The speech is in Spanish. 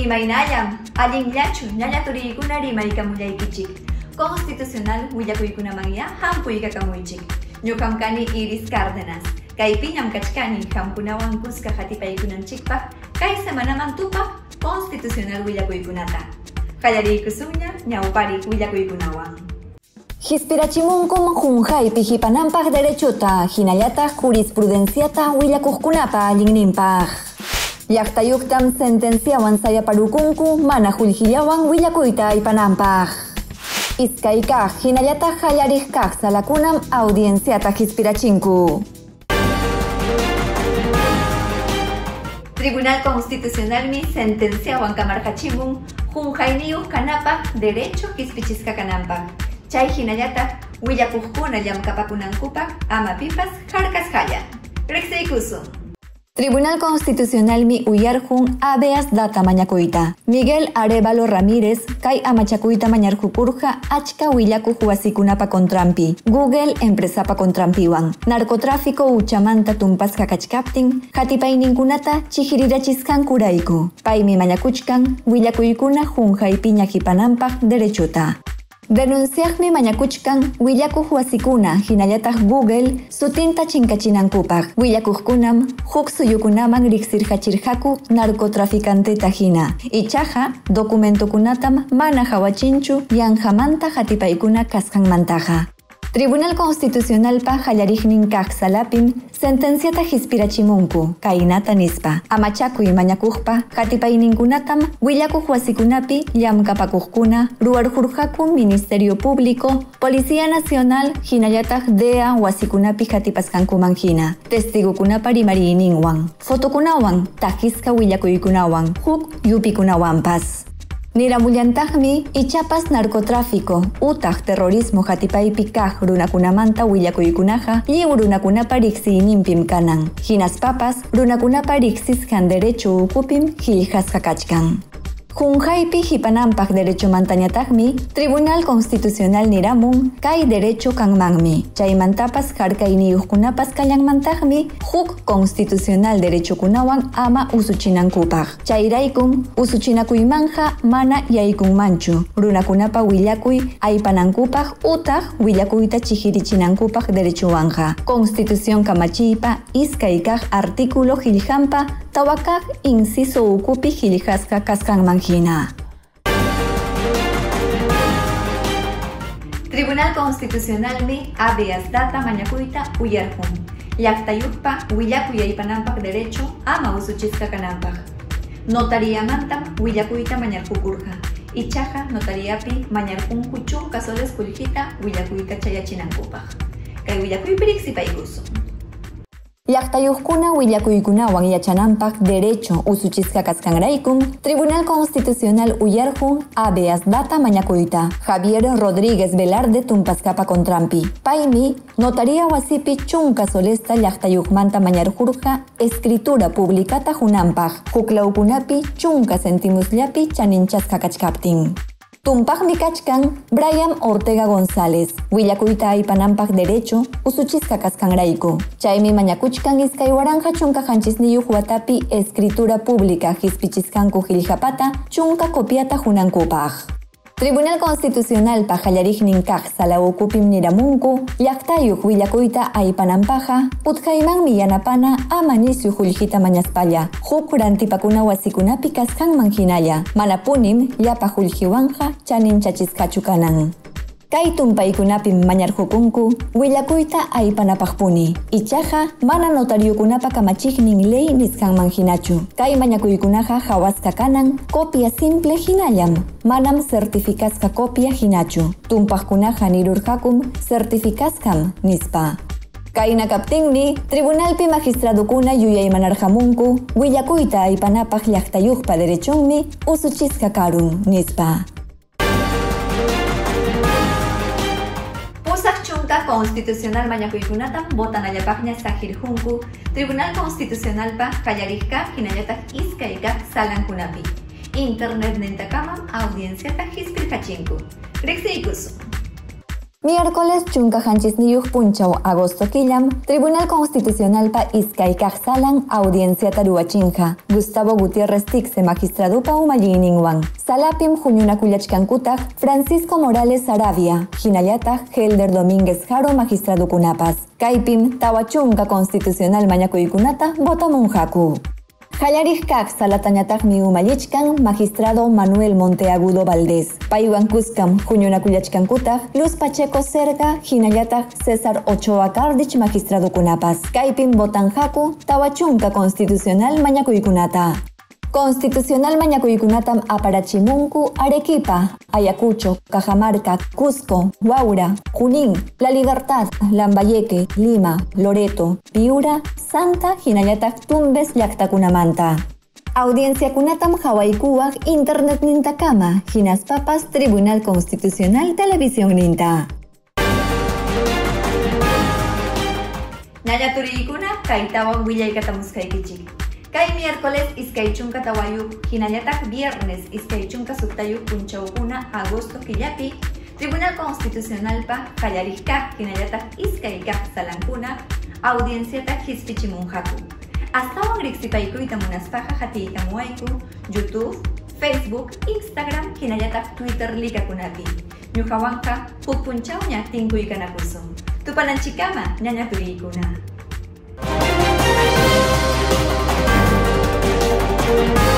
Rimaynallam, allinllachu, ñallaturikuna rimaykamullaykichik. Constitucional willakuykunamanya hampuykakamuychik. Ñuqam kani Iris Cárdenas. Kaypiñam kachkani hamkunawan kuska hatipaykunanchikpaq kay semanaman tupaq constitucional willakuykunata. Qallariykusuña ñawpariq willakuykunawan. Hispirachimunkum Junjaypi hipananpaq derechota, hinallataq jurisprudenciata willakuqkunapa allinninpaq. Llaqtayuqtam sentenciawan sayaparukunku mana qullqillawan willakuyta aypananpaq. Iskaykaq hinallataq qallariq kaq salakunam audienciata hispirachinku. Tribunal Constitucionalmi sentenciawan kamarqachimun Junjayniyuq kanapaq derecho hispichisqa kananpaq. Chay hinallataq willakuqkuna llamkapakunankupaq ama pipas hark'asqalla. Riqsiykusun. Tribunal Constitucionalmi uyarjun habeas data mañakuyta. Miguel Arevalo Ramírez kay amachakuyta mañarqukurqa achka willakuq wasikunapa kontrampi. Google empresapa kontrampiwan. Narcotráfico uchamanta tumpasqa kachkaptin hatipayninkunata chihirirachisqankurayku. Paymi mañakuchkan willakuykuna Junjaypi ñaqipananpaq derechota. Denunciaqmi mañakuchkan willakuq wasikuna hinallataq Google sutinta chinkachinankupaq. Willakuqkunam huk suyukunaman riqsirqachirqaku narcotraficanteta hina. Ichaqa documentokunatam mana hawachinchu yanqamanta hatipaykuna kasqanmantaqa. Tribunal Constitucionalpa qallariqnin kaq salapim sentenciata hispirachimunku kaynata nispa. Amachakuy mañakuqpa hatipayninkunatam willakuq wasikunapi llamkapakuqkuna ruwarqurqaku Ministerio Público, Policía Nacional hinallataq DEA wasikunapi hatipasqankuman hina. Testigukunapa rimariyninwan, fotokunawan, takisqa willakuykunawan, huk yupikunawanpas. Niramullantajmi ichapas narcotráfico utaq terrorismo hatipaypi kaq runakunamanta willakuykunaqa lliw runakunapa riqsiyninpim kanan. Hinaspapas runakunapa riqsisqan derecho ukupim qillqasqa kachkan. Junjaypi hipananpaq derechomantañataqmi Tribunal Constitucional niramun kay derecho kanmanmi. Chaymantapas harkayniyuqkunapas kallanmantaqmi huk constitucional derechokunawan ama usuchinankupaq. Chayraykum usuchinakuymanja mana yaykunmanchu. Runakunapa willakuy aypanankupaq utaq willakuyta chihirichinankupaq derechuwanja. Constitución kamachiypa iskay kaq artículo qillqanpa tawakaq inciso ukupi qillqasqa kasqanman hina. Tribunal Constitucionalmi habeas data mañakuyta uyarjun. Llaqtayuqpa willakuy aypananpaq derecho ama usuchisqa kananpaq. Notariamantam willakuyta mañarqukurqa. Ichaqa notariapi mañarqunku chunka soles qullqita willakuyta chayachinankupaq. Kay willakuypi riqsipaykusun. Llaqtayuqkuna willakuykunawan yachananpaq derecho usuchisqa kasqanraykum Tribunal Constitucional uyarjun habeas data mañakuyta. Javier Rodríguez Velarde tumpasqapa kontrampi. Paymi notaria wasipi chunka solesta llaqtayuqmanta mañarqurqa escritura publicata hunanpaq. Huklawkunapi chunka centimusllapi chaninchasqa kachkaptin. Tumpaqmi kachkan Brian Ortega González, willakuyta aypananpaq derecho usuchisqa kasqanrayku. Chaymi mañakuchkan iskay waranja chunka qanchisniyuq watapi escritura pública hispichisqanku qillqapata chunka copiata hunankupaq. Tribunal Constitucionalpa qallariqnin kaq sala ukupim niramunku llaqtayuq willakuyta aypananpaqa utqaymanmi yanapana ama nisyu qullqita mañaspalla huk rantipakuna wasikunapi kasqanman hinalla mana punim llapa qullqiwanja chaninchachisqachu kanan. Kay tumpaykunapim mañarqukunku willakuyta aypanapaqpuni. Ichaqa mana notariokunapa kamachiqnin ley nisqanman hinachu. Kay mañakuykunaqa hawasqa kanan copia simple hinallam. Manam certificasqa copia hinachu. Tumpaqkunaqa nirurqakum certificasqam nispa. Kayna kaptinmi Tribunalpi magistradukuna yuyaymanarqamunku willakuyta aypanapaq llaqtayuqpa derechonmi usuchisqa karun nispa. Chunka Constitucional mañakuykunatam botanallapaqña saqirqunku Tribunal Constitucionalpa qallariqqa hinallataq iskay kaq salankunapi. Internet nintakamam audienciata hispirqachinku. Riqsiykusun. Miércoles chunka hanchisniyuq punchaw agosto killam, Tribunal Constitucionalpa iskaykaq salan audiencia taruachinja, Gustavo Gutiérrez Tixe magistradupa umallininwan. Salapim huñunakullachkankutaj Francisco Morales Arabia, hinallataj Helder Domínguez Jaro magistradukunapas. Kaypim tawachunka constitucional mañakuykunata votamunhaku. Hallarijkaq salatañataqmi umallichkan magistrado Manuel Monteagudo Valdés. Paywan kuskam huñunakullachkankutaj Luz Pacheco Serga, hinallataj César Ochoa Cardich magistradukunapas. Kaypim votanhaku tawachunka constitucional mañakuykunata. Constitucional mañakuykunatam aparachimunku Arequipa, Ayacucho, Cajamarca, Cusco, Huaura, Junín, La Libertad, Lambayeque, Lima, Loreto, Piura, Santa, hinallataj Tumbes llaqtakunamanta. Audiencia kunatam hawaykuwaq internet nintakama, hinaspapas Tribunal Constitucional Televisión ninta. Ñañaturiykuna kaytawan willaykatamuskaykichik. Kay miércoles iskaychunka tawayuq, hinallataj viernes iskaychunka suktayuq punchawkuna agosto killapi, Tribunal Constitucionalpa qallarijkaq hinallataj iskaykaq salankuna audienciata hispichimunhaku. Astawan riqsipaykuyta munaspaqa hatiykamuwayku YouTube, Facebook, Instagram, hinallataj Twitter likakunapi. Ñuqawanqa huk punchawña tinkuykanakusun. Tupananchikama ñañaturiykuna.